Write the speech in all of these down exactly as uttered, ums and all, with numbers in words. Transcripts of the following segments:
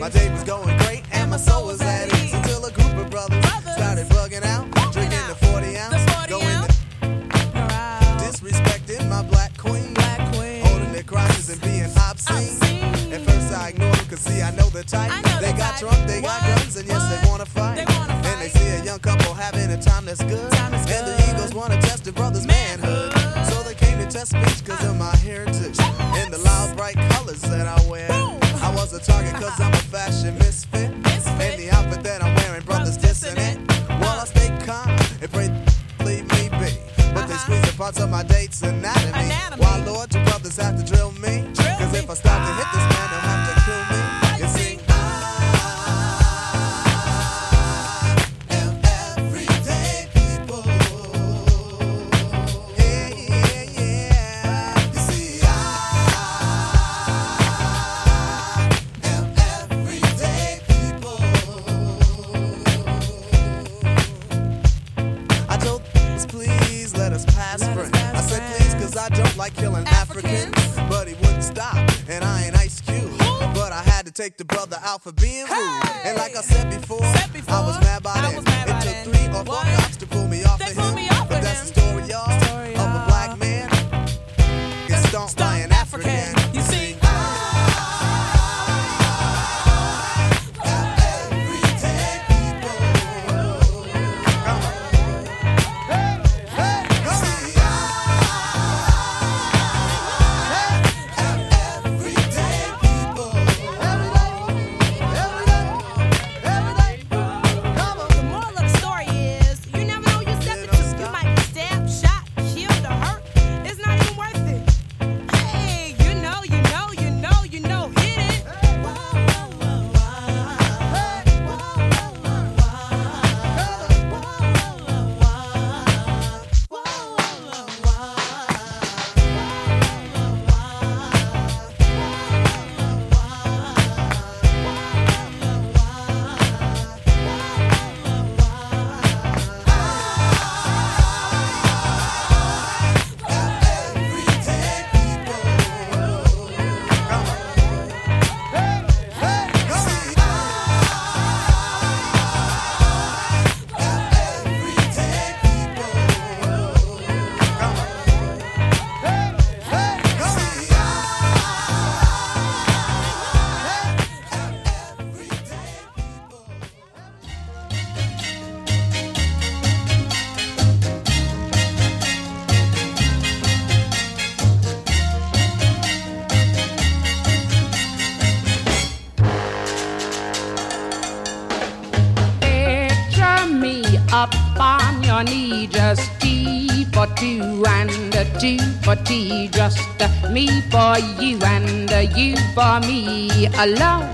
My day was going great and my soul was at ease until a group of brothers started bugging out, drinking the forty ounce, going to disrespecting my black queen, holding their crotches and being obscene. At first I ignored them, cause see I know the type. They got drunk, they got guns, and yes they wanna fight. And they see a young couple having a time that's good, and the Eagles wanna test the brother's manhood. So they came to test speech cause of my heritage and the loud bright colors that I wear. I was a target cause I'm a fashion misfit, and the outfit that I'm wearing, brothers dissing it. Well, I stay calm and pray leave me be, but they squeeze the parts of my date's anatomy. Why, Lord, do brothers have to drill me? Cause if I start to hit this man, they'll have to kill me. You see, I don't like killing Africans, Africans, but he wouldn't stop, and I ain't Ice Cube. But I had to take the brother out for being rude. Hey! And like I said before, said before, I was mad by then. It took then. three or four what? cops to pull me off they of him. Off but of that's him. the story, y'all, story, of a black man gets stomped by an African. African. You see, knee, just T for two and a two for tea, just uh, me for you and uh, you for me alone.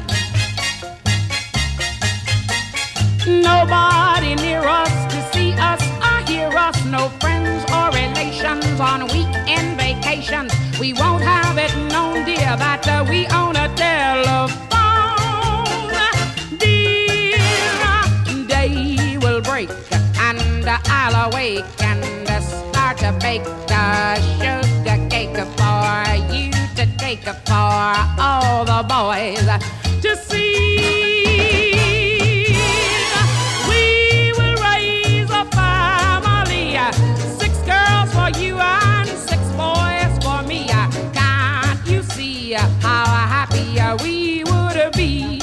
Nobody near us to see us or hear us, no friends or relations on weekend vacations. We won't have it known, dear, that uh, we own a telephone. Dear, day will break and I'll awake and start to bake a sugar cake for you to take for all the boys to see. We will raise a family, six girls for you and six boys for me. Can't you see how happy we would be?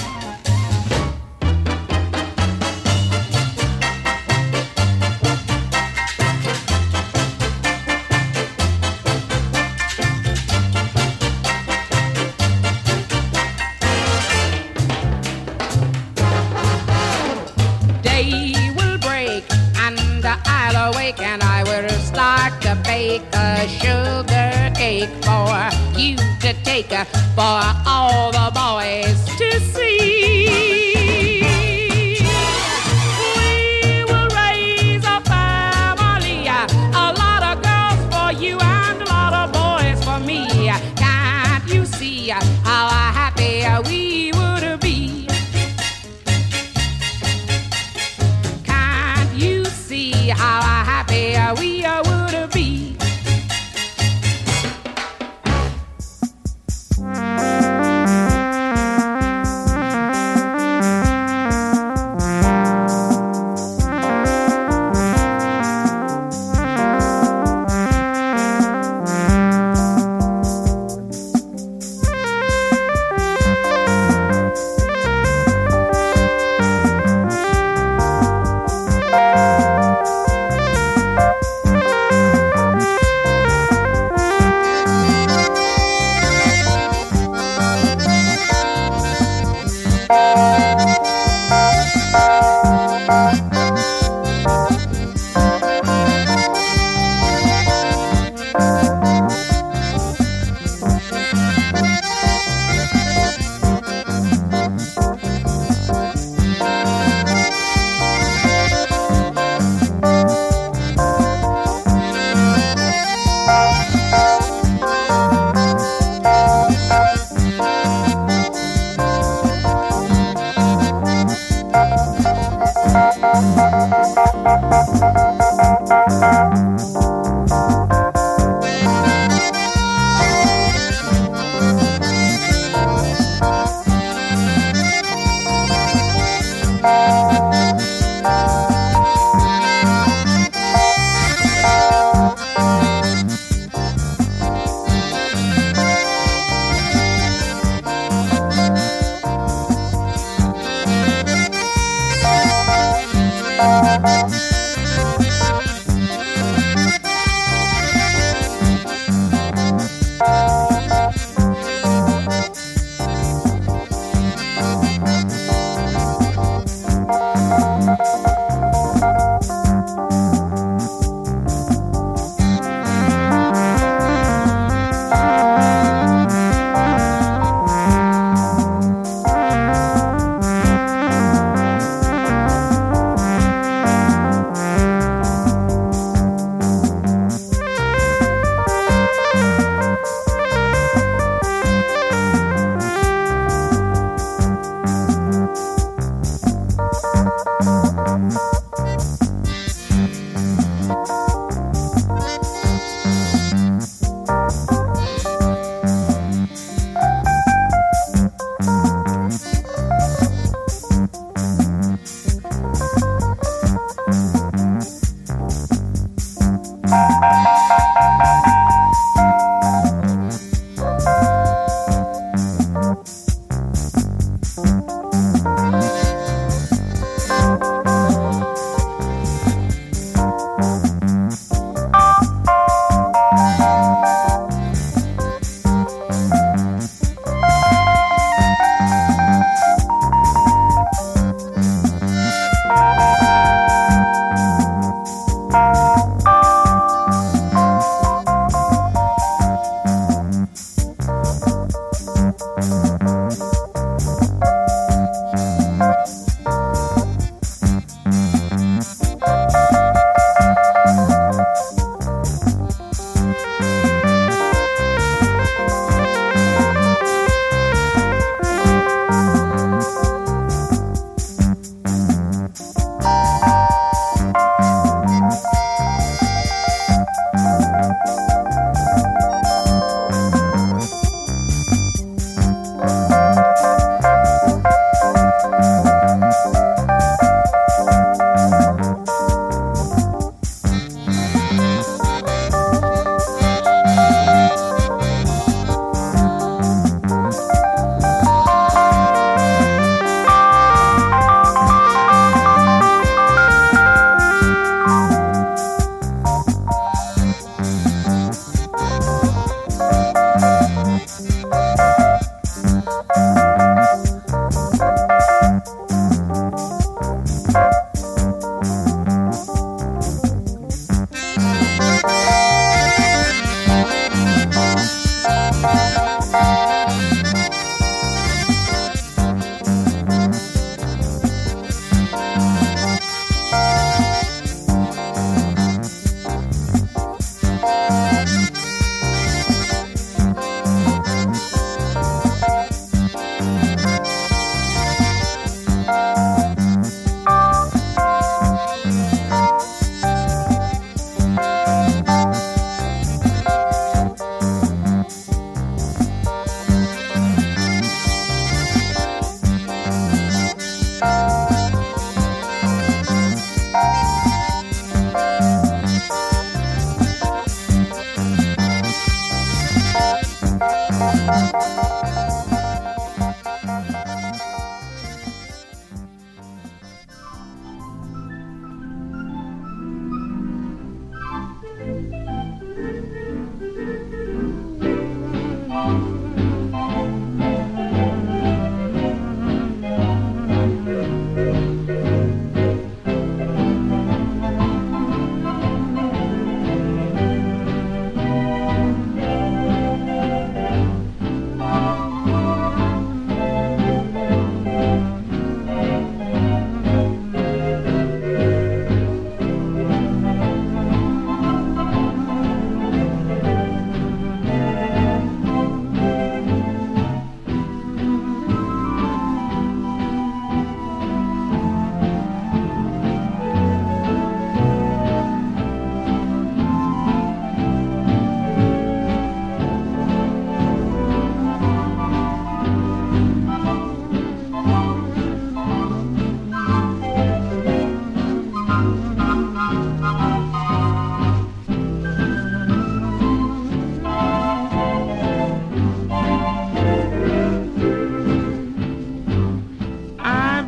And I will start to bake a sugar cake for you to take for all the boys to see. We will raise a family, a lot of girls for you and a lot of boys for me. Can't you see how happy we would be? Can't you see how happy we would be?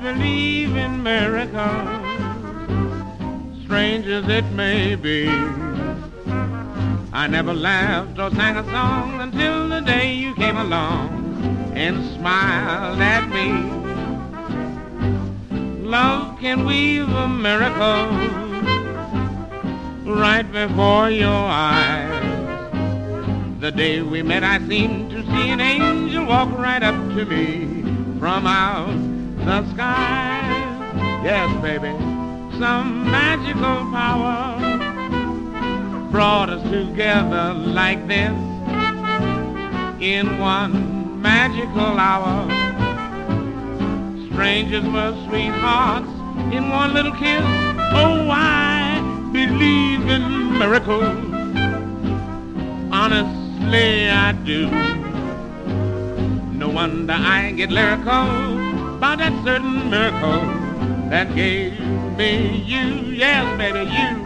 believe in miracles, strange as it may be. I never laughed or sang a song until the day you came along and smiled at me. Love can weave a miracle right before your eyes. The day we met I seemed to see an angel walk right up to me from out the sky. Yes, baby, some magical power brought us together like this in one magical hour. Strangers were sweethearts in one little kiss. Oh, I believe in miracles. Honestly, I do. No wonder I get lyrical about that certain miracle that gave me you. Yes, baby, you.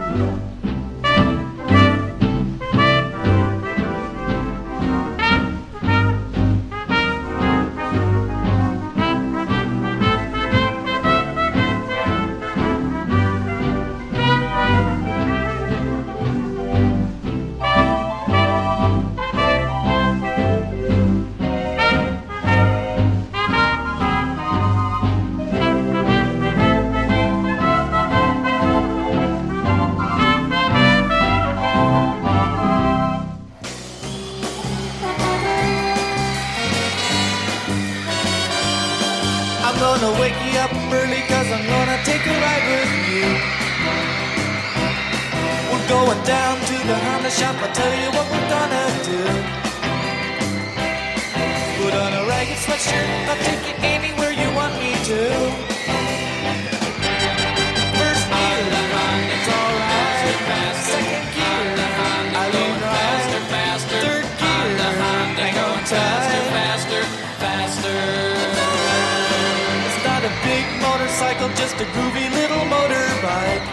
Just a groovy little motorbike.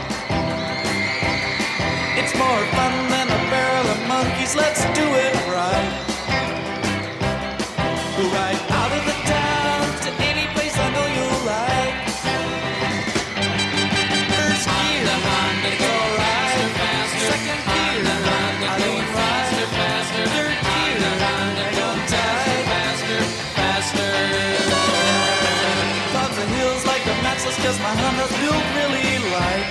It's more fun than a barrel of monkeys. Let's do it right. We'll ride out of the town to any place I know you'll like. First gear, the Honda, it's alright. Second gear, the Honda, I lean right. Third gear, the Honda, go tight. Faster, faster. Clouds and hills like the matchless, 'cause my Honda's built really light.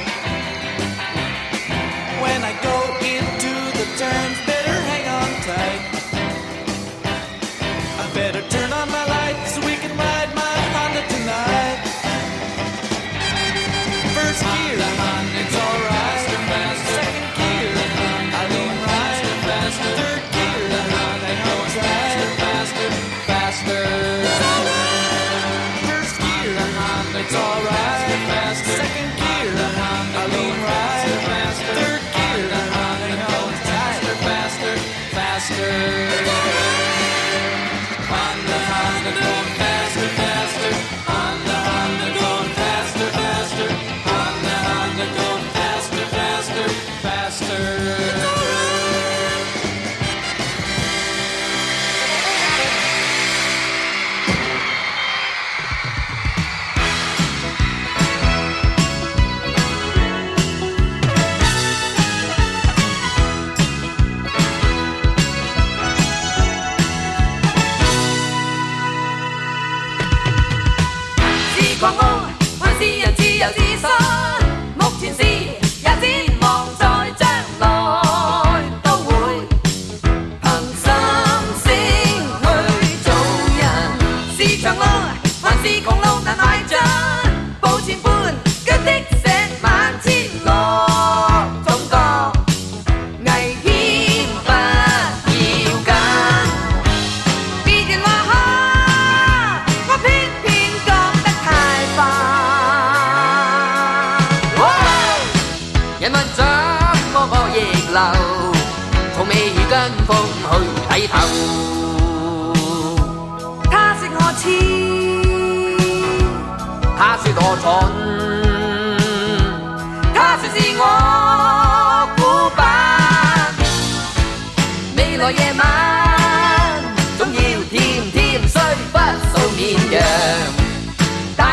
When I go into the turns, better hang on tight. I better turn on my lights so we can ride my Honda tonight. First gear, the Honda, it's alright. Second gear, the Honda, I lean right. Third gear, the Honda, hang on tight. Faster, faster. First gear, the Honda, it's alright. Second gear, the Honda, I lean right. Third gear, the Honda, hang on tight. Faster, faster. Honda, Honda, going faster, faster. Honda, Honda, going faster, faster. Honda, Honda, going faster, faster, faster.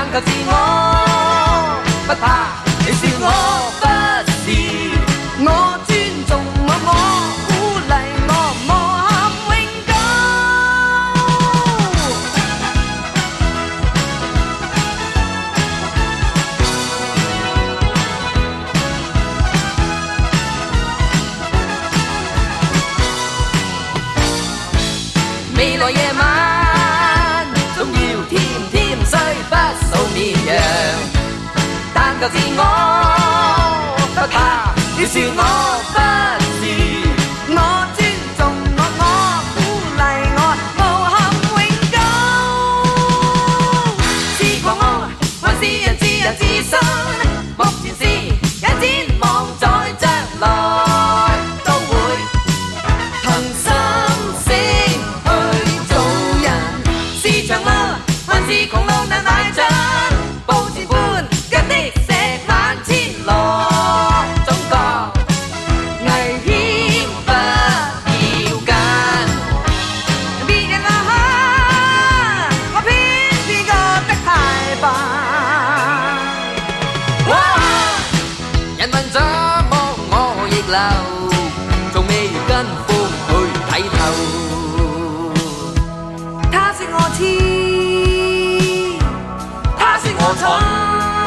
求自我，不怕你笑我不是，我尊重我，我鼓勵我，無憾永久。未來夜晚總要甜甜雖不數綿羊，但求自我，不怕要笑我不是，我尊重我，我鼓勵我，無憾永久。是狂傲還是人自人自信？目前是也展望在將來都會憑心聲去做人。是長路還是窮路難邁進？步前般腳的石萬千來，總覺危險不要緊。別人話我偏偏覺得太笨。哇！人問怎麼我逆流，仲未跟風去睇透。他說我痴，他說我蠢。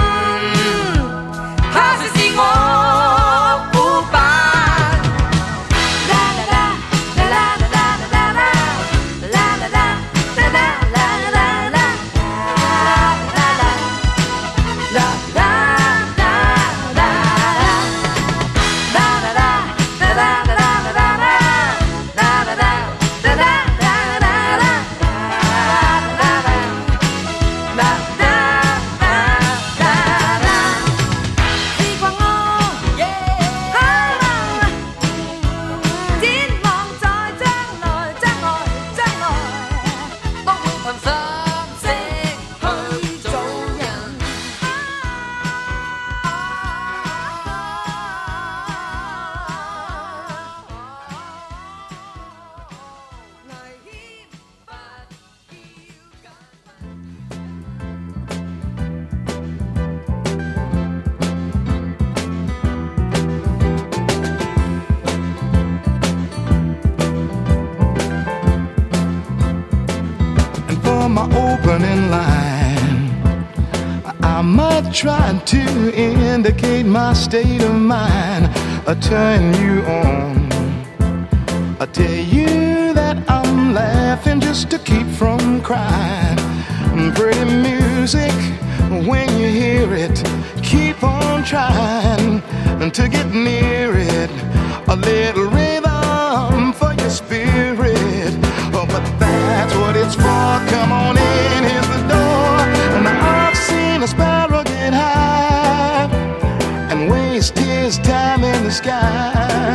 Try to indicate my state of mind, I turn you on. I tell you that I'm laughing just to keep from crying. Pretty music, when you hear it, keep on trying to get near it. A little rhythm for your spirit. Oh, but that's what it's for. Come on in, here's the door. And I've seen a sparrow get high and waste his time in the sky.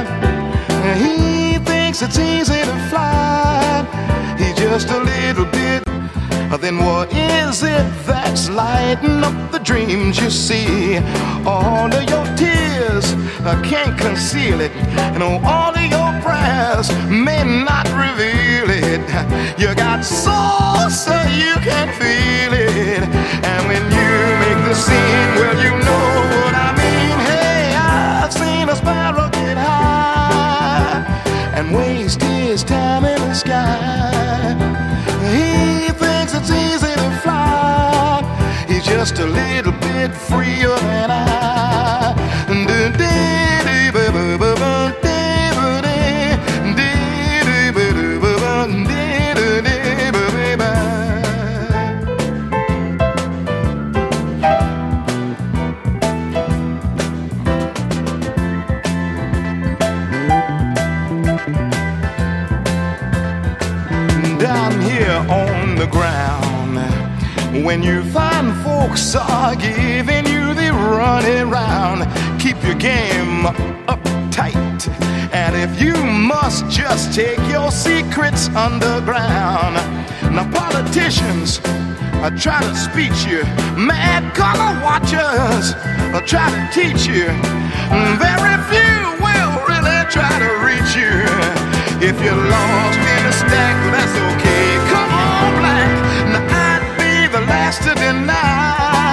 He thinks it's easy to fly. He's just a little bit. Then what is it that's lighting up the dreams you see? All of your tears, I can't conceal it. And all of your prayers may not reveal it. You got soul so you can feel it. And when you make the scene, well, you know what I mean. Hey, I've seen a sparrow get high and waste his time in the sky. He thinks it's easy to fly. He's just a little bit freer than I. Down here on the ground, when you find folks are giving you the runaround, keep your game uptight. And if you must, just take your secrets underground. Now politicians I try to speech you, mad color watchers I try to teach you. Very few will really try to reach you. If you're lost in a stack, that's okay. Come on, black. Now I'd be the last to deny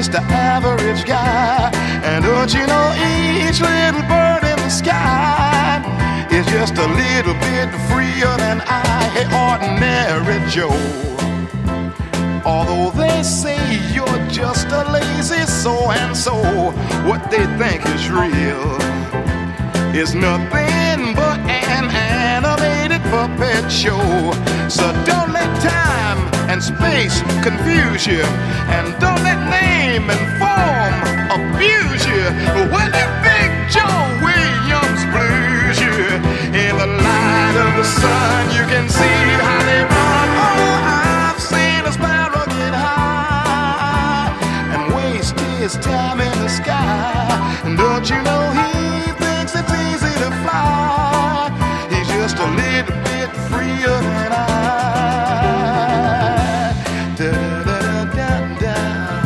just an average guy. And don't you know each little bird in the sky is just a little bit freer than I, hey, ordinary Joe. Although they say you're just a lazy so-and-so, what they think is real is nothing but an animated puppet show. So don't let time and space confuse you, and don't let name and form abuse you. When that Big Joe Williams blues you, in the light of the sun you can see how they run. Oh, I've seen a sparrow get high and waste his time in the sky. And don't you know he thinks it's easy to fly? He's just a little bit freer than I. Da da da da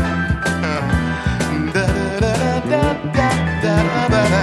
da da da da da da da.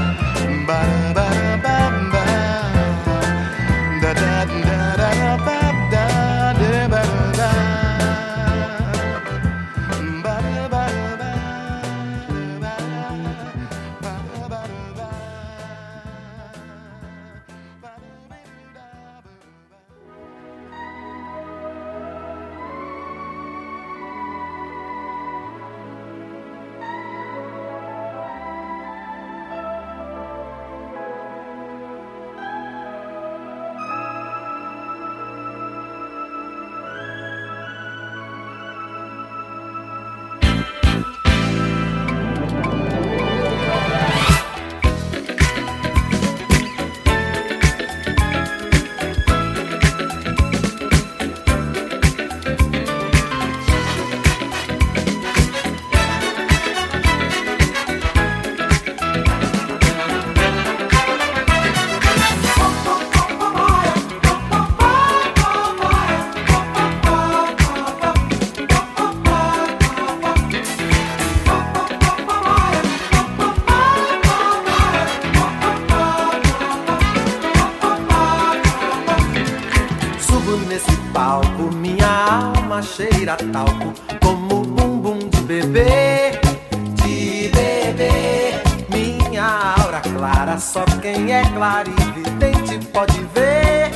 cheira talco, como bumbum de bebê, de bebê. Minha aura clara, só quem é clarividente pode ver,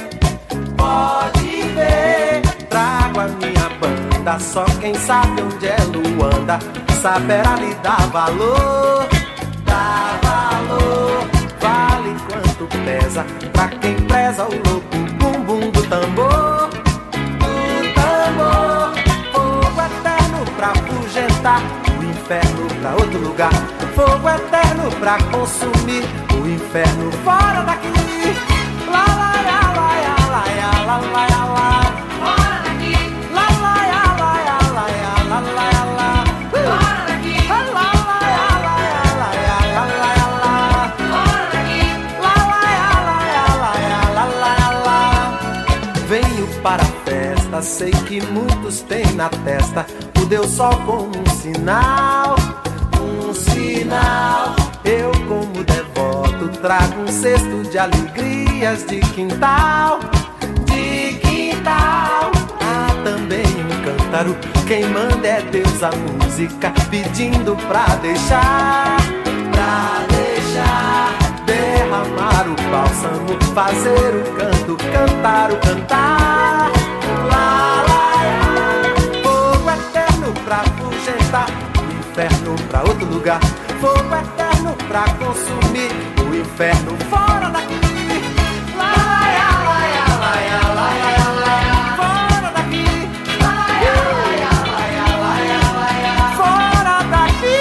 pode ver. Trago a minha banda, só quem sabe onde é Luanda saberá lhe dar valor, dar valor. Vale quanto pesa pra quem preza o louco bumbum do tambor, do tambor. Fogo eterno pra afugentar o inferno pra outro lugar, fogo eterno pra consumir o inferno fora daqui. Lá, lá, lá, lá, lá, lá, lá, lá, lá, lá. Fora daqui. Lá, lá, lá, lá, lá, lá, lá, lá, lá. Fora daqui. Lá, lá, lá, lá, lá, lá, lá, lá. Fora daqui. Lá, lá, lá, lá, lá, lá, lá. Venho para a festa, sei que muitos têm na testa o Deus Sol como um sinal, um sinal. Eu como devoto trago um cesto de alegrias de quintal, de quintal. Há também um cântaro, quem manda é Deus a música, pedindo pra deixar, pra deixar derramar o bálsamo, fazer o canto, cantar o cantar. Lá, lá, lá. Fogo eterno pra afugentar o inferno pra outro lugar, fogo eterno pra consumir o inferno fora daqui. Lá, lá, lá, lá, lá, lá, lá, lá. Fora daqui. Lá, lá, lá, lá, lá, lá. Fora daqui.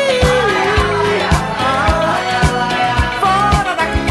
Fora daqui.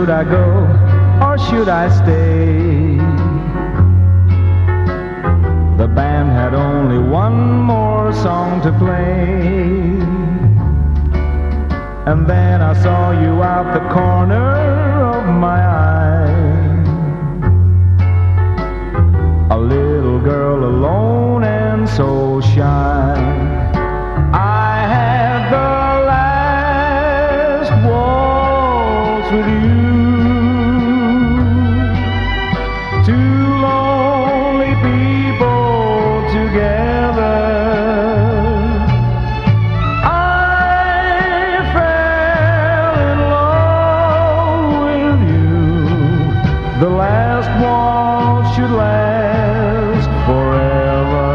should I go or should I stay? The band had only one more song to play. And then I saw you out the corner of my eye. A little girl alone and so shy. I had the last waltz with you. Two lonely people together. The last waltz should last forever.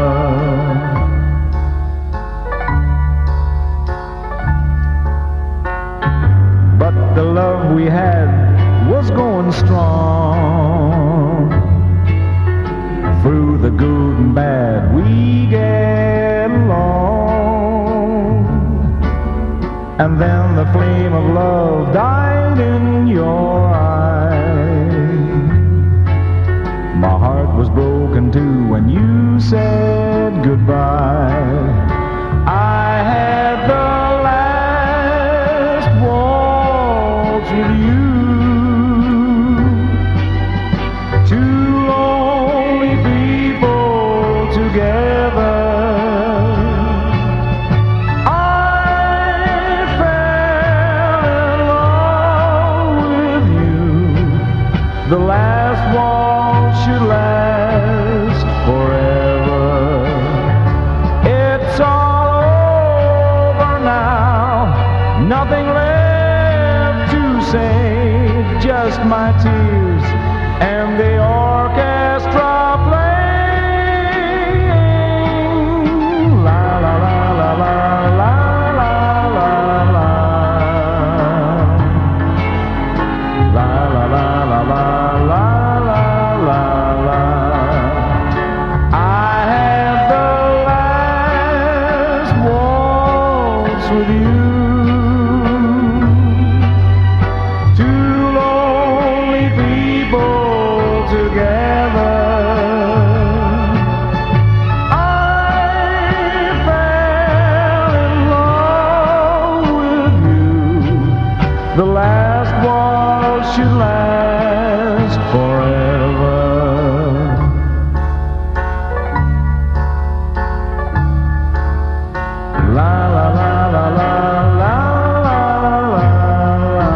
But the love we had was going strong. Through the good and bad we get along. And then the flame of love died in your eyes. My heart was broken too when you said goodbye. I had the last waltz with you. Two lonely people together. I fell in love with you. The last waltz should last forever. It's all over now, nothing left to say, just my tears and the orchestra playing. La la la la la la la la la. La la la la la la. With you, two lonely people together. I fell in love with you. The last waltz should last forever. La la la. La, la, la, la, la, la.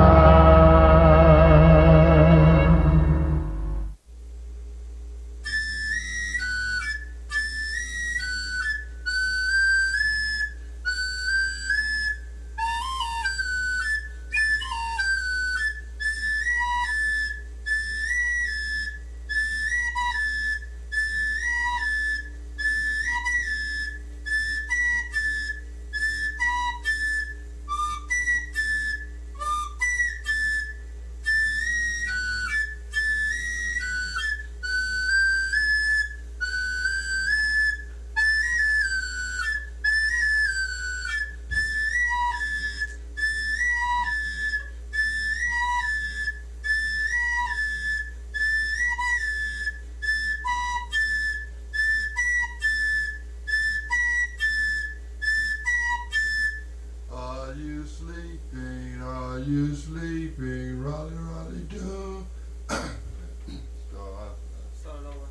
Are you sleeping? Are you sleeping? Rolly, rolly, do. Start. Start over.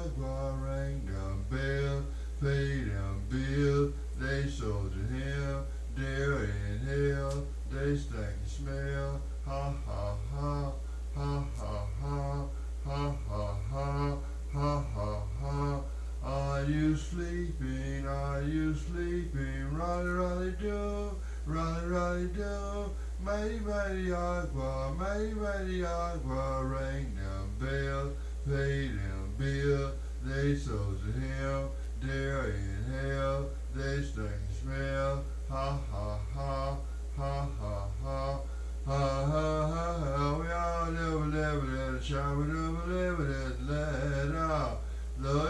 agua, ring them bell, pay them bill. They sold to him, there in hell, they stank and smell. Ha ha ha, ha ha ha, ha ha ha, ha ha ha. Are you sleeping? Are you sleeping? Rolly, rolly, do, rolly, rolly, do. Mighty, mighty agua, mighty, mighty agua, ring them bell, pay them bill. They sold to him, there in hell, they stink and smell. Ha ha ha, ha ha ha, ha ha ha. We all never, never, never, shall we never, never, never, let out. Oh,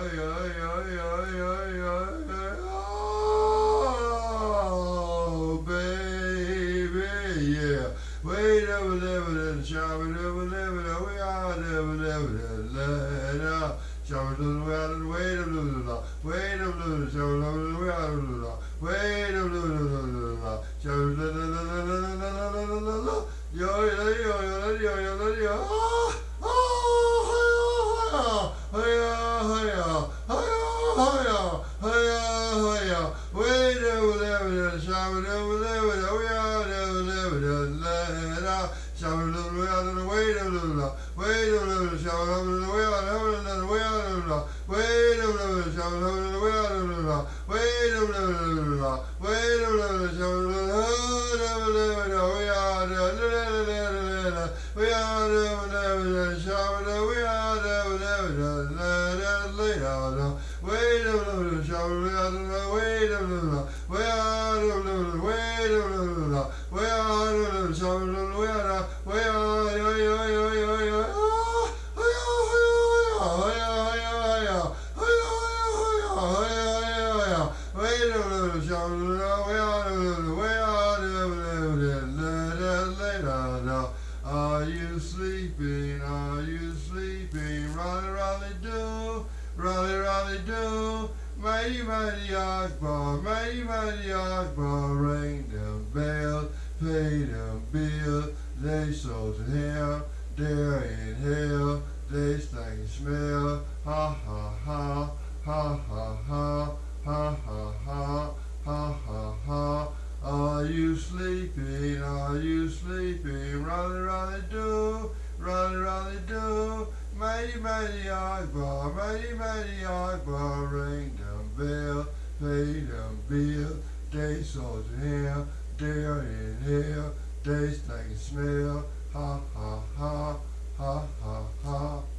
baby, yeah. Wait, never, never, never, shall we never, never, never, we all never, never, never, let out. Shall we do the wait a little, wait a little, shall we do the wait a little, shall we do the yo, yo, yo, yo, yo, yo, yo, oh, hiya, hiya, hiya, hiya, hiya, hiya. Wait a minute, shall we never, never, we are never, never, let out. Shall we never, wait a little, wait a little, shall we never, we are never, we are never, wait a minute, shall we never, we are never, wait a minute, wait a minute, shall we never, never, we are never, we are never, never, shall we never, we are never, never, lay down. Wait a minute, shall we wait a minute, wait a minute, wait a minute, wait a minute, wait a minute, shall we wait a wait a yo yo yo yo yo wait a minute, shall we wait a minute, wait a minute, lay down. Are you sleeping? Are you sleeping? Rolly, rolly, do, rolly, rolly, do. Mighty, mighty agua, mighty, mighty agua, ring them bells, pay them bills. They sold to him, there in hell, they stank and smell. Ha ha ha, ha ha ha, ha ha ha, ha ha ha. Are you sleeping? Are you sleeping? Rolly, rolly, do, rolly, rolly, do. Mighty, mighty agua, mighty, mighty agua, ring them bell, pay them bill. They sold to him, there in hell, they stank and smell. Ha ha ha, ha ha ha.